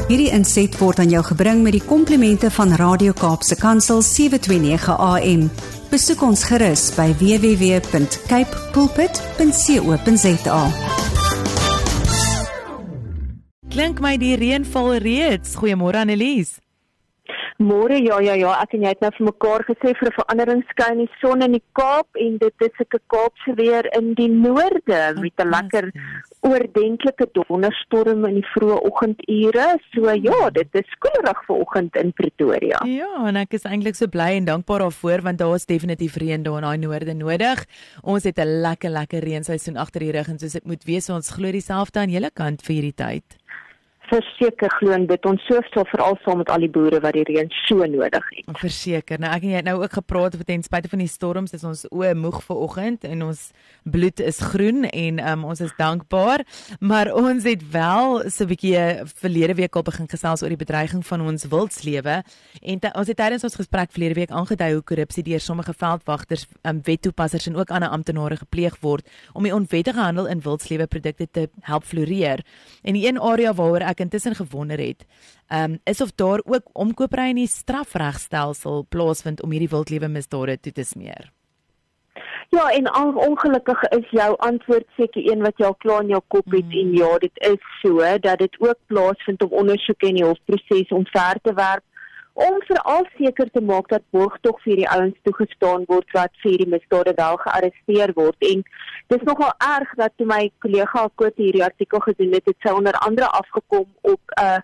Hierdie inset word aan jou gebring met die komplimente van Radio Kaapse Kansel 729 AM. Besoek ons gerus by www.capepulpit.co.za. Klink my die reën val reeds. Goeiemôre Annelies. Môre, ja, ek en jy het nou vir mekaar gesê vir 'n verandering skyn die son in die Kaap en dit is 'n Kaapse weer in die noorde met 'n lekker oordentlike donderstorm in die vroeë oggendure. So ja, dit is koelerig vanoggend in Pretoria. Ja, en ek is eintlik so bly en dankbaar daarvoor want daar is definitief reën daar in daai noorde nodig. Ons het 'n lekker reenseisoen agter die rug en soos dit moet wees, ons glo dieselfde aan julle kant vir hierdie tyd. Verseker glo dit ons so veral saam met al die boere wat die reën so nodig het. Verseker. Nou ek en jy het nou ook gepraat oor ten spyte van die storms is ons oë moeg vanoggend en ons bloed is groen en ons is dankbaar, maar ons het wel so 'n bietjie verlede week al begin gesels oor die bedreiging van ons wildslewe en ons het tydens ons gesprek verlede week aangedui hoe korrupsie deur sommige veldwagters, wettoepassers en ook ander amptenare gepleeg word om die onwettige handel in wildsleweprodukte te help floreer. En die een area waaroor ek intussen gewonder het, is of daar ook omkopery in die strafregstelsel plaasvind om hierdie wildlewe misdade toe te smeer. Ja, en ongelukkig is jou antwoord seker een wat jy al klaar in jou kop het en ja, dit is so, dat dit ook plaasvind om ondersoeke in die hofproses omver te werp, om veral seker te maak dat borgtog vir die ouens toegestaan word wat vir die misdade wel gearresteer word. En dis nogal erg dat toe my kollega Koot hierdie artikel gedoen het sy onder andere afgekom op 'n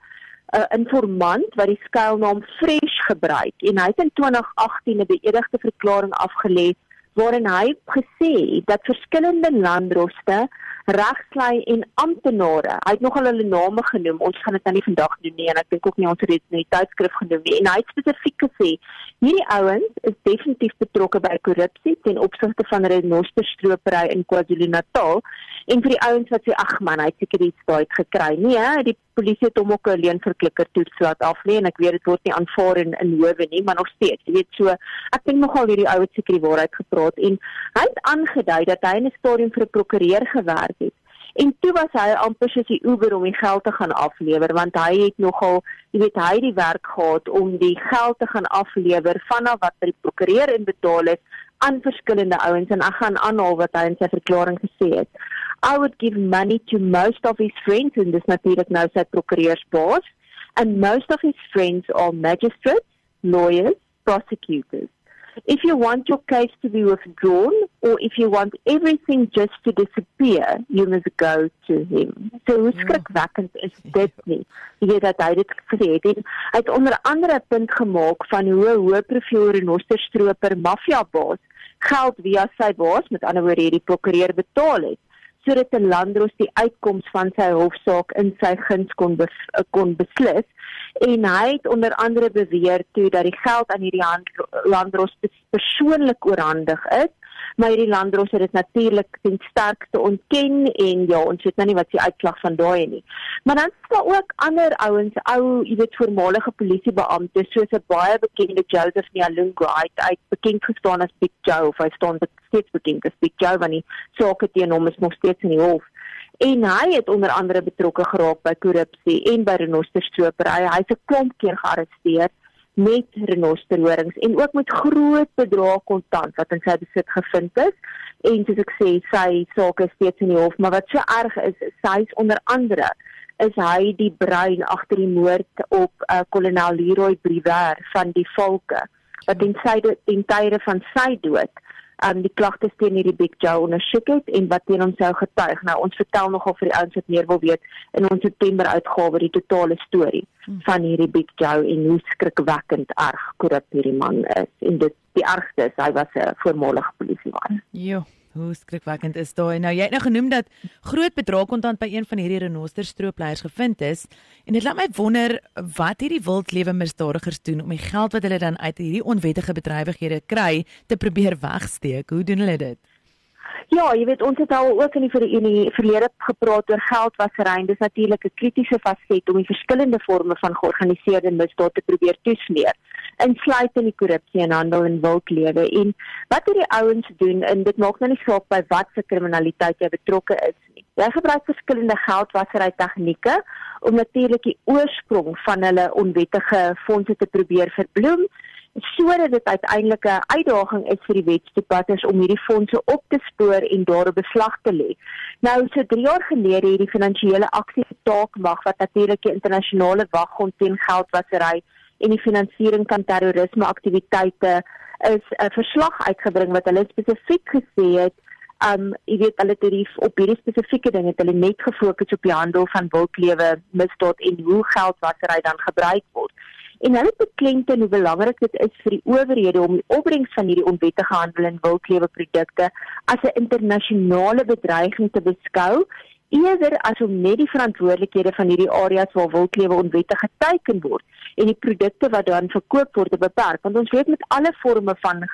informant wat die skuilnaam Fresh gebruik en hy het in 2018 'n beëdigde verklaring afgelê waarin hy gesê dat verskillende landdroste, regslui en amptenare, hy het nogal hulle name genoem, ons gaan dit nou nie vandag doen nie en ek dink ook nie ons het dit in die tydskrif genoem nie, en hy het spesifiek gesê, hierdie ouens is definitief betrokke by korrupsie ten opsigte van renosterstropery in KwaZulu-Natal, en vir die ouens wat sê, ag man, hy het seker iets daai gekry, nee, die polisie het hom ook 'n leenverklikker toets laat aflê en ek weet dit word nie aanvaar in howe nie, maar nog steeds, jy weet so, ek dink nogal hierdie ouens seker die waarheid gepraat en hy het aangedui dat hy in 'n stadium vir 'n prokureur gewerk het. En toe was hy amper soos die Uber om die geld te gaan aflewer, want hy het nogal, jy weet, hy die werk gehad om die geld te gaan aflewer vanaf wat die prokureur inbetaal het aan verskillende ouens en ek gaan aanhaal wat hy in sy verklaring gesê het. I would give money to most of his friends, en dis natuurlik nou sy prokureursbaas, and most of his friends are magistrates, lawyers, prosecutors. If you want your case to be withdrawn, or if you want everything just to disappear, you must go to him. So hoe skrikwekkend is dit nie? Jy weet dat hy dit gesê het. En hy het onder andere 'n punt gemaak van hoe 'n hoë profiel renosterstroper maffiabaas geld via sy baas, met ander woorde die prokureur betaal het, sodat 'n landdros die uitkoms van sy hofsaak in sy guns kon beslis. En hy het onder andere beweer toe dat die geld aan hierdie landdros persoonlik oorhandig is, maar hierdie landdros het dit natuurlik ten sterkste ontken en ja, ons weet nou nie wat die uitslag van daai nie. Maar dan is daar ook ander ouens, jy weet voormalige polisiebeampte soos 'n baie bekende Joseph Nyalungu, hy bekend gestaan as Big Joe, of hy staan steeds bekend as Big Joe, want die sake teen hom is nog steeds in die hof. En hy het onder andere betrokke geraak by korrupsie en by renosterstropery. Hy is 'n klomp keer gearresteer met renosterhorings en ook met groot bedrae kontant wat in sy besit gevind is. En soos ek sê, sy saak is steeds in die hof, maar wat so erg is sy is onder andere is hy die brein agter die moord op kolonel Leroy Briwer van die Valke, wat ten tye van sy dood die klagtes teen hierdie Big Joe ondersoek het en wat teen hom sou getuig. Nou, ons vertel nogal vir die ouens wat meer wil weet in ons September uitgawe die totale storie van hierdie Big Joe en hoe skrikwekkend erg korrup hierdie man is. En dit die ergste is, hy was 'n voormalige polisieman. Jo, hoe skrikwekkend is daai. Nou, jy het nou genoem dat groot bedrag kontant by een van hierdie renosterstroopleiers gevind is en dit laat my wonder wat hierdie wildlewe misdadigers doen om die geld wat hulle dan uit hierdie onwettige bedrywighede kry te probeer wegsteek. Hoe doen hulle dit? Ja, jy weet, ons het al ook in die verlede gepraat oor geldwasery en dis natuurlik 'n kritiese faset om die verskillende forme van georganiseerde misdaad te probeer toesmeer, insluitend die korrupsie en handel in wildlewe. En wat hierdie ouens doen, en dit maak nou nie saak by wat se kriminaliteit jy betrokke is nie. Jy gebruik verskillende geldwasery tegnieke om natuurlik die oorsprong van hulle onwettige fondse te probeer verbloem, sodat dit uiteindelik 'n uitdaging is vir die wetstoepassers om hierdie fondse op te spoor en daarop beslag te lê. Nou, so 3 jaar gelede het die Finansiële Aksietaakmag, wat natuurlik die internasionale waghond teen geldwasery en die finansiering van terrorisme-aktiwiteite is 'n verslag uitgebring wat hulle spesifiek gesê het, jy weet, hulle het op hierdie spesifieke ding het hulle net gefokus op die handel van wildlewe misdaad en hoe geldwasery dan gebruik word. En hulle beklemtoon hoe belangrik dit is vir die owerhede om die opbrengs van hierdie onwettige handel in wildlewe produkte as 'n internasionale bedreiging te beskou, eerder as om net die verantwoordelikhede van hierdie areas waar wildlewe onwettig geteiken word en die produkte wat dan verkoop word te beperk. Want ons weet met alle vorme van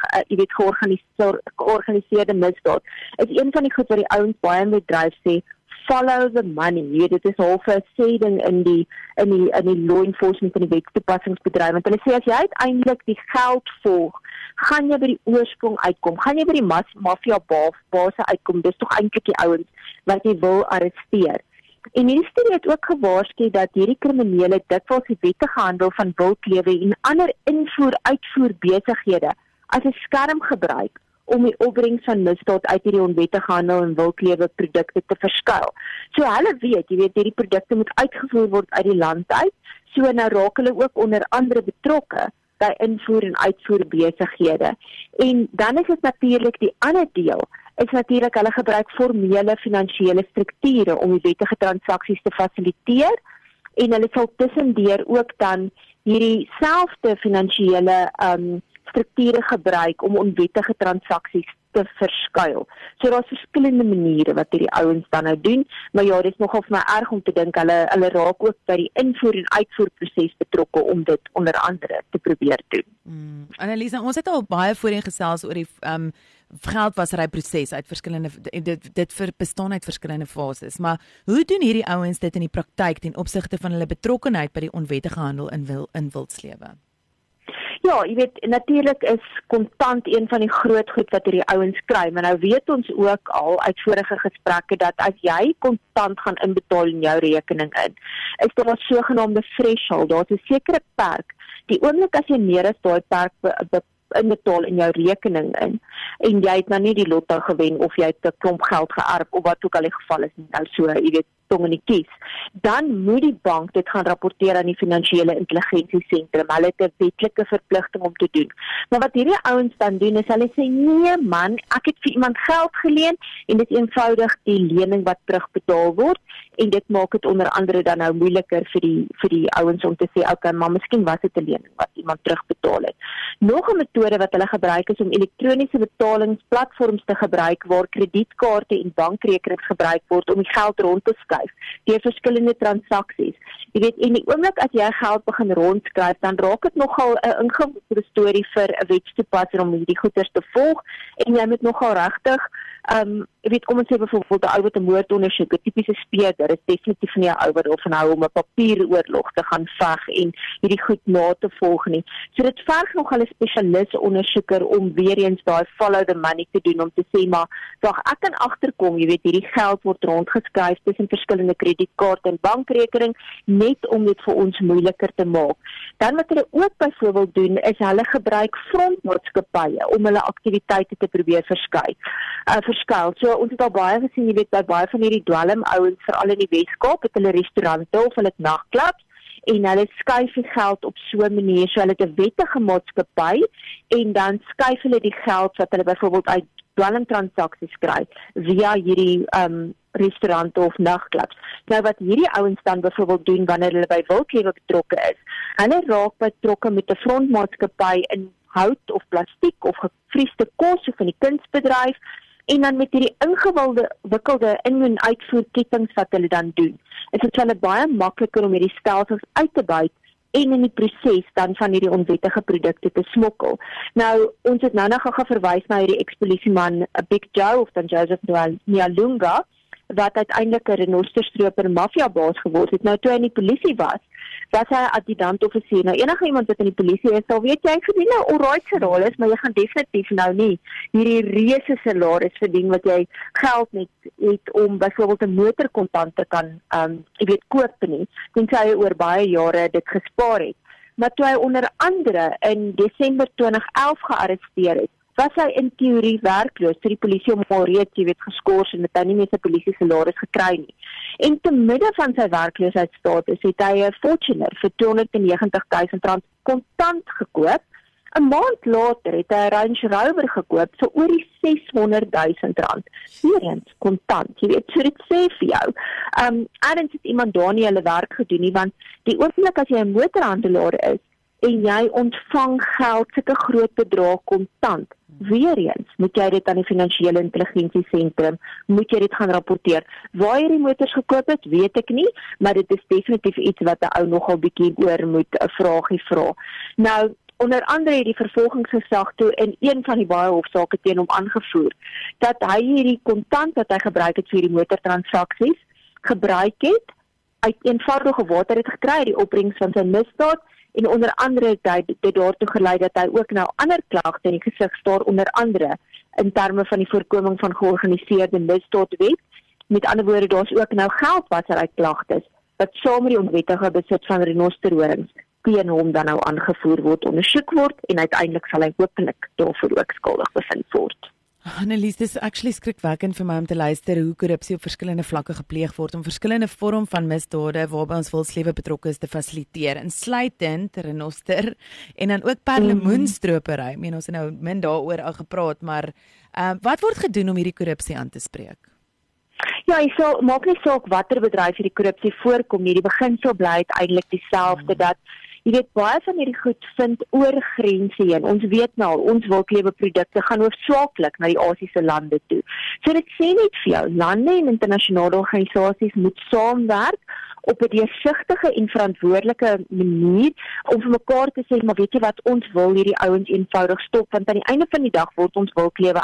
georganiseerde misdaad, is een van die goed wat die ouens baie met dryf sê, follow the money. Jy weet, dit is half 'n sêding in die law enforcement en die wetstoepassingsbedryf. Want hulle sê as jy uiteindelik die geld volg, gaan jy by die oorsprong uitkom, gaan jy by die maffia base uitkom. Dis tog eintlik die ouens wat jy wil arresteer. En hierdie studie het ook gewaarsku dat hierdie kriminele dikwels die wettige handel van wildlewe en ander invoer-uitvoer besighede as 'n skerm gebruik om die opbrengs van misdaad uit hierdie onwettige handel en wildlewe produkte te verskuil. So hulle weet, jy weet, hierdie produkte moet uitgevoer word uit die land uit, so nou raak hulle ook onder andere betrokke by invoer en uitvoer besighede. En dan is dit natuurlik die ander deel, is natuurlik hulle gebruik formele finansiële strukture om die wettige transaksies te fasiliteer, en hulle sal tussendeur ook dan hierdie selfde finansiële strukture gebruik om onwettige transaksies te verskuil. So daar's verskillende maniere wat hierdie ouens dan nou doen, maar ja, dit is nogal vir my erg om te dink hulle raak ook by die invoer en uitvoerproses betrokke om dit onder andere te probeer doen. Anneliesa, ons het al baie voorheen gesels oor die geldwaseryproses uit verskillende dit bestaan uit verskillende fases, maar hoe doen hierdie ouens dit in die praktyk ten opsigte van hulle betrokkenheid by die onwettige handel in wildslewe? Ja, jy weet, natuurlik is kontant een van die groot goed wat hierdie ouens kry, maar nou weet ons ook al uit vorige gesprekke dat as jy kontant gaan inbetaal in jou rekening is daar 'n sogenaamde threshold, daar's 'n sekere perk. Die oomblik as jy meer as daai perk inbetaal in jou rekening en jy het nou nie die lotto gewen of jy het 'n klomp geld geërf of wat ook al die geval is, nou so, jy weet, tong in die kies, dan moet die bank dit gaan rapporteer aan die Finansiële Intelligensiesentrum. Hulle het 'n wetlike verpligting om te doen. Maar wat hierdie ouens dan doen is hulle sê, nee man, ek het vir iemand geld geleen en dit is eenvoudig die lening wat terugbetaal word, en dit maak dit onder andere dan nou moeiliker vir die ouens om te sê, okay, maar miskien was dit 'n lening wat iemand terugbetaal het. Nog 'n metode wat hulle gebruik is om elektroniese betalingsplatforms te gebruik waar kredietkaarte en bankrekenings gebruik word om die geld rond te skuif deur verskillende transaksies. Jy weet, en die oomblik as jy geld begin rondskuif, dan raak dit nogal 'n ingewikkelde storie vir 'n wetstoepasser om hierdie goeders te volg, en jy moet nogal regtig jy weet, kom ons sê byvoorbeeld 'n ou wat 'n moord ondersoek, 'n tipiese speurder, is definitief nie 'n ou wat daarvan hou om 'n papieroorlog te gaan veg en hierdie goed na te volg nie. So dit verg nogal 'n spesialis ondersoeker om weer eens daai follow the money te doen, om te sê, maar wag, ek kan agterkom, jy weet, hierdie geld word rondgeskryf tussen verskillende kredietkaarte en bankrekening, net om dit vir ons moeiliker te maak. Dan wat hulle ook byvoorbeeld doen, is hulle gebruik frontmaatskappye om hulle aktiwiteite te probeer verskuil. So ons het al baie gesien, jy weet, by baie van hierdie dwelmouens, veral in die Weskaap, het hulle restaurante of hulle het nagklubs, en hulle skuif die geld op so 'n manier, so hulle het 'n wettige maatskappy, en dan skuif hulle die geld wat hulle byvoorbeeld uit dwelmtransaksies kry, via hierdie restaurante of nagklubs. Nou wat hierdie ouens dan byvoorbeeld doen wanneer hulle by wildlewe betrokke is, hulle raak betrokke met 'n frontmaatskappy in hout of plastiek of gevriesde kos of in die kunsbedryf, en dan met hierdie ingewikkelde in- en uitvoerketings wat hulle dan doen, is dit vir hulle baie makliker om hierdie stelsels uit te buit en in die proses dan van hierdie onwettige produkte te smokkel. Nou, ons het nou nog gou verwys na hierdie ex-polisieman Big Joe of dan Joseph Nyalunga, wat uiteindelik 'n renosterstroper mafiabaas geword het. Nou toe hy in die polisie was hy 'n adjutant-offisier. Nou enige iemand wat in die polisie is, sal weet jy verdien nou alright geraal is, maar jy gaan definitief nou nie hierdie reuse salaris verdien wat jy geld net het om byvoorbeeld 'n motor kontant te kan koop nie, tensy hy oor baie jare dit gespaar het. Maar toe hy onder andere in Desember 2011 gearresteer het, was hy in teorie werkloos, toe die polisie hom al reeds, geskort en het hy nie meer sy polisie salaris gekry nie. En te midde van sy werkloosheidsstatus het hy 'n Fortuner vir R290.000 kontant gekoop. 'n Maand later het hy 'n Range Rover gekoop vir oor die R600.000. Hierin kontant, so dit sê vir jou. Ergens het iemand daar nie hulle werk gedoen nie, want die oomblik as jy 'n motorhandelaar is en jy ontvang geld, sulke groot bedrae kontant, weer eens moet jy dit aan die finansiële intelligensie sentrum, moet jy dit gaan rapporteer. Waar jy die motors gekoop het, weet ek nie, maar dit is definitief iets wat 'n ou nogal bietjie oor moet 'n vraagie vra. Nou, onder andere het die vervolgingsgesag toe in een van die baie hofsaake teen hom aangevoer, dat hy hierdie kontant wat hy gebruik het vir die motortransaksies, gebruik het, uit eenvoudige water het gekry uit die opbrengs van sy misdaad, en onder andere het hy dit daartoe gelei dat hy ook nou ander klagte in die gesig staar, onder andere in terme van die voorkoming van georganiseerde misdaadwet. Met ander woorde, daar's ook nou geldwasery klagtes wat saam met die onwettige besit van renosterhorings teen hom dan nou aangevoer word, ondersoek word en uiteindelik sal hy hopelik daarvoor ook skuldig bevind word. Annelies, dis actually skrikwekkend vir my om te luister hoe korrupsie op verskillende vlakke gepleeg word om verskillende vorm van misdade waarby ons wilslewe betrokke is te fasiliteer, insluitend renoster en dan ook perlemoenstropery. Ek meen ons het nou min daaroor al gepraat, maar wat word gedoen om hierdie korrupsie aan te spreek? Ja, maak nie saak watter bedryf hierdie korrupsie voorkom nie. Die beginsel bly uiteindelik dieselfde, dat jy weet, baie van hierdie goed vind oor grense heen. Ons weet nou al, ons wilkleweprodukte gaan hoofsaaklik na die Asiëse lande toe. So dit sê net vir jou, lande en internasionale organisasies moet saamwerk op 'n deursigtige en verantwoordelike manier om vir mekaar te sê, maar weet jy wat, ons wil hierdie ouens eenvoudig stop, want aan die einde van die dag word ons wilklewe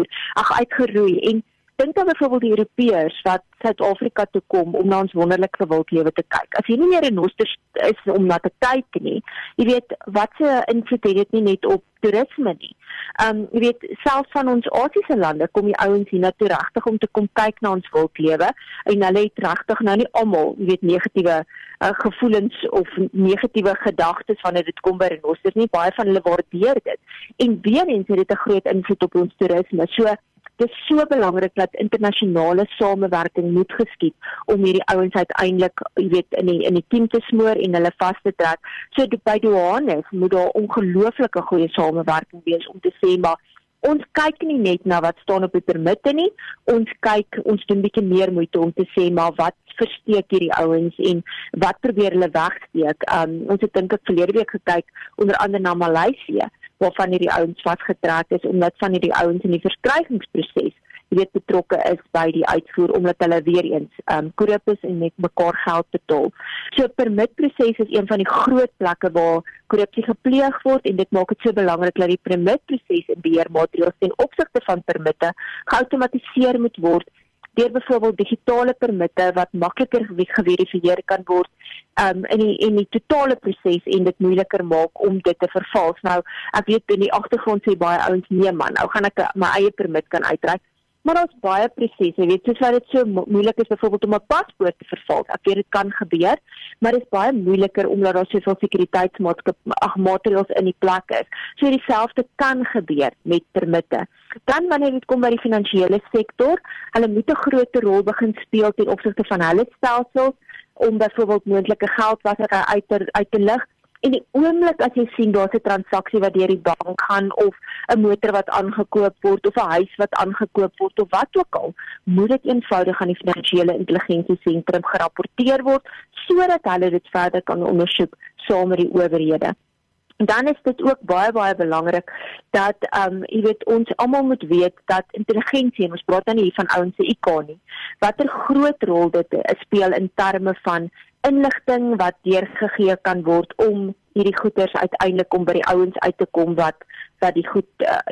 uitgeroei. En dink dan byvoorbeeld die Europeërs wat Suid-Afrika toe kom om na ons wonderlike wildlewe te kyk. As jy nie meer 'n renoster is om na te kyk nie, jy weet, wat se invloed het dit nie net op toerisme nie. Jy weet, selfs van ons Asiëse lande kom die ouens hier na toe regtig om te kom kyk na ons wildlewe en hulle het regtig nou nie almal, jy weet, negatiewe gevoelens of negatiewe gedagtes wanneer dit kom by renosters nie. Baie van hulle waardeer dit. En weer eens het dit 'n groot invloed op ons toerisme. So dit is so belangrik dat internasionale samewerking moet geskied om hierdie ouens uiteindelik, jy weet, in die team te smoor en hulle vas te trek. So by douanes moet daar ongelooflike goeie samewerking wees om te sê, maar ons kyk nie net na wat staan op die permitte nie, ons doen bietjie meer moeite om te sê, maar wat versteek hierdie ouens en wat probeer hulle wegsteek. Ons het dink ek verlede week gekyk onder andere na Maleisië, waarvan hierdie ouens vasgetrek is, omdat van hierdie ouens in die verskrywingsproses, jy weet, betrokke is by die uitvoer, omdat hulle weer eens korrup is en met mekaar geld betaal. So permitproses is een van die groot plekke waar korrupsie gepleeg word, en dit maak dit so belangrik dat die permitproses en beheermaatreëls ten opsigte van permitte geautomatiseer moet word, deur byvoorbeeld digitale permitte wat makliker geverifieer kan word in die totale proses en dit moeiliker maak om dit te vervals. Nou, ek weet in die agtergrond sê baie ouens, nee man, nou gaan ek my eie permit kan uitreik. Maar daar's baie prosesse, weet, soos wat dit so moeilik is byvoorbeeld om 'n paspoort te vervals. Ek weet dit kan gebeur, maar dit is baie moeiliker omdat daar soveel sekuriteitsmaatreëls in die plek is. So dieselfde kan gebeur met permitte. Dan wanneer dit kom by die finansiële sektor, hulle moet 'n groter rol begin speel ten opsigte van hulle stelsels om byvoorbeeld moontlike geldwasery uit te lig. En die oomblik as jy sien daar's 'n transaksie wat deur die bank gaan of 'n motor wat aangekoop word of 'n huis wat aangekoop word of wat ook al, moet dit eenvoudig aan die finansiële intelligensie sentrum gerapporteer word sodat hulle dit verder kan ondersoek saam met die owerhede. Dan is dit ook baie belangrik dat jy weet, ons almal moet weet dat intelligensie, en ons praat nou nie hier van ouens se IQ nie, watter groot rol dit speel in terme van inligting wat deurgegee kan word om hierdie goeders uiteindelik om by die ouens uit te kom wat die goed,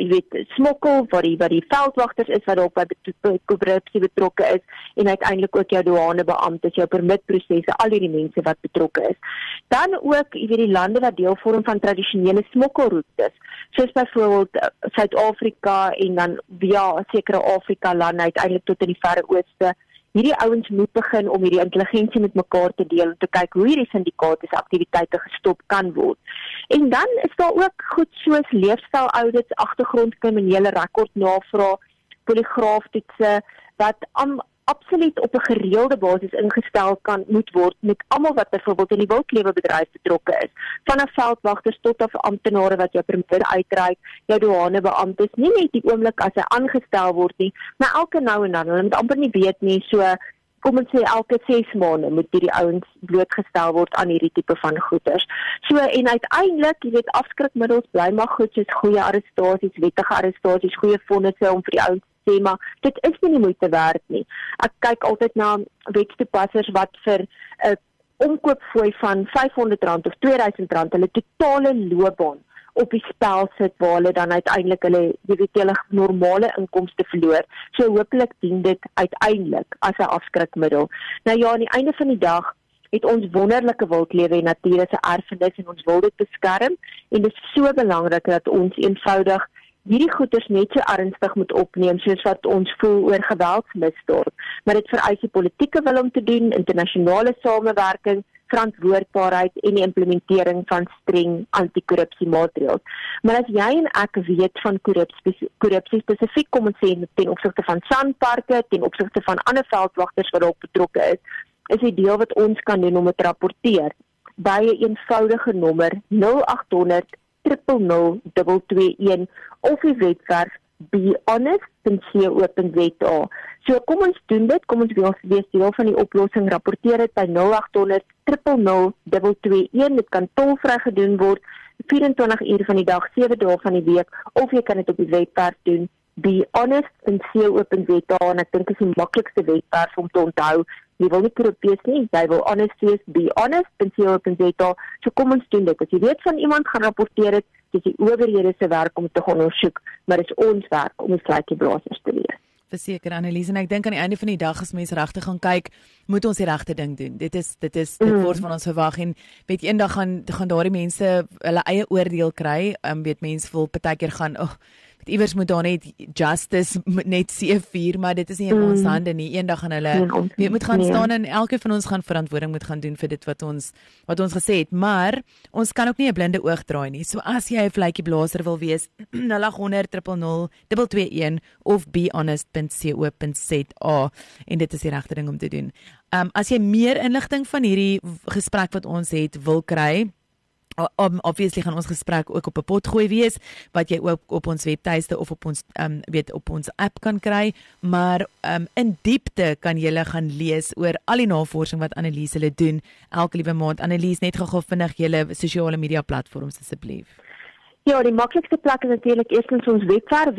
smokkel, wat die veldwagters is, wat ook by korrupsie betrokke is, en uiteindelik ook jou douanebeamptes, jou permitprosesse, al hierdie mense wat betrokke is. Dan ook, die lande wat deel vorm van tradisionele smokkelroetes, soos byvoorbeeld Suid-Afrika en dan via sekere Afrika-lande uiteindelik tot in die Verre Ooste. Hierdie ouens moet begin om hierdie intelligensie met mekaar te deel, om te kyk hoe hierdie syndikaate se aktiwiteite gestop kan word. En dan is daar ook goed soos leefstyl-audits, agtergrondkriminele rekordnavraag, poligraaftoetse, wat absoluut op 'n gereelde basis ingestel moet word met almal wat byvoorbeeld in die wildlewebedryf betrokke is, vanaf veldwagters tot af amptenare wat jou permitte uitreik, jou douanebeamptes, nie net die oomblik as hy aangestel word nie, maar elke nou en dan, hulle moet amper nie weet nie, so kom ons sê elke 6 maande moet hierdie ouens blootgestel word aan hierdie tipe van goeders. So en uiteindelik, afskrikmiddels bly maar goed, soos goeie arrestasies, wettige arrestasies, goeie vonnisse om vir die ouens te sê, maar dit is nie die moeite werd nie. Ek kyk altyd na wetstoepassers wat vir 'n omkoopfooi van R500 of R2000 hulle totale loopbaan op die spel sit, waar hulle dan uiteindelik hulle normale inkomste verloor. So hopelik dien dit uiteindelik as 'n afskrikmiddel. Nou ja, aan die einde van die dag het ons wonderlike wildlewe en natuur as 'n erfenis en ons wil dit beskerm, en dit is so belangrik dat ons eenvoudig hierdie goeders net so ernstig moet opneem soos wat ons voel oor geweldsmisdaad. Maar dit vereis die politieke wil om te doen, internasionale samewerking, verantwoordbaarheid en die implementering van streng anti-korrupsiemaatreëls. Maar as jy en ek weet van korrupsie spesifiek, kom ons sê ten opsigte van sandparke, ten opsigte van ander veldwagters wat ook betrokke is die deel wat ons kan doen om dit te rapporteer by 'n eenvoudige nommer 0800 000 221 of die webwerf behonest.co.za. So kom ons doen dit, kom ons wees deel van die oplossing, rapporteer dit by 0800 000 221, dit kan tolvry gedoen word, 24 uur van die dag, 7 dae van die week, of jy kan dit op die webwerf doen, behonest.co.za, en ek dink is die maklikste webwerf om te onthou. Jy wil nie korrup wees nie, jy wil honest wees, behonest.co.za, so kom ons doen dit. As jy weet van iemand, gaan rapporteer dit, dis die owerhede se werk om te gaan ondersoek, maar dis ons werk om die sluitjieblassers te wees. Verseker Annelies, en ek dink aan die einde van die dag as mense regtig gaan kyk, moet ons die regte ding doen. Dit word van ons verwag, en weet eendag gaan daardie mense hulle eie oordeel kry. Weet mense wil partykeer gaan, iewers moet daar net justice net seëvier, maar dit is nie in ons hande nie. Eendag gaan hulle moet gaan staan, en elke van ons gaan verantwoording moet gaan doen vir dit wat ons gesê het. Maar ons kan ook nie 'n blinde oog draai nie. So as jy 'n vletjieblaser wil wees, 0800 000 221 of behonest.co.za, en dit is die regte ding om te doen. As jy meer inligting van hierdie gesprek wat ons het wil kry, obviously gaan ons gesprek ook op 'n potgooi wees, wat jy ook op ons webtuiste of op ons op ons app kan kry, maar in diepte kan jy gaan lees oor al die navorsing wat Annelies hulle doen elke liewe maand. Annelies, net gou vinnig julle sosiale media platforms asseblief. Ja, die maklikste plek is natuurlik eerstens ons webwerf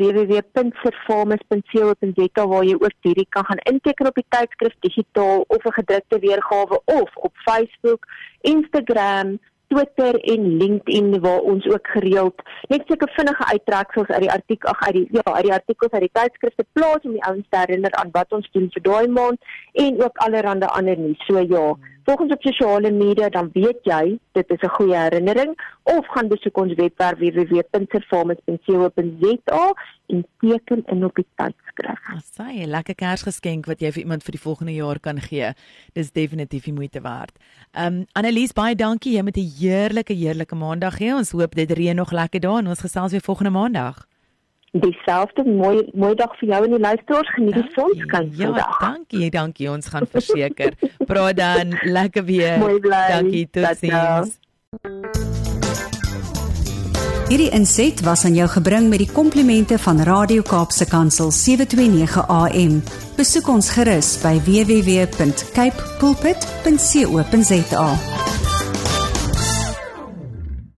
www.servamus.co.za, waar jy ook direk kan gaan inteken op die tydskrif digitaal of 'n gedrukte weergawe, of op Facebook, Instagram, Twitter en LinkedIn, waar ons ook gereeld net seker vinnige uittreksels uit die artikels uit die tydskrifte plaas om die ouens te herinner aan wat ons doen vir daai maand, en ook allerhande ander nuus. So ja, volg ons op sosiale media, dan weet jy, dit is 'n goeie herinnering, of gaan besoek ons webwerf www.servamus.co.za en teken in op die tydskrif. Asai, 'n lekker Kersgeskenk wat jy vir iemand vir die volgende jaar kan gee. Dis definitief die moeite werd. Annelies, baie dankie. Jy met 'n heerlike maandag hê. Ons hoop dit reën nog lekker daar, en ons gesels weer volgende maandag. Dieselfde, mooi dag vir jou en die luisteraars. Geniet die sonskyn vandag. Ja, dankie. Ons gaan verseker. Praat dan, lekker weer. Mooi bly. Dankie, totsiens. Hierdie inset was aan jou gebring met die komplimente van Radio Kaapse Kansel 729 AM. Besoek ons gerus by www.cape pulpit.co.za.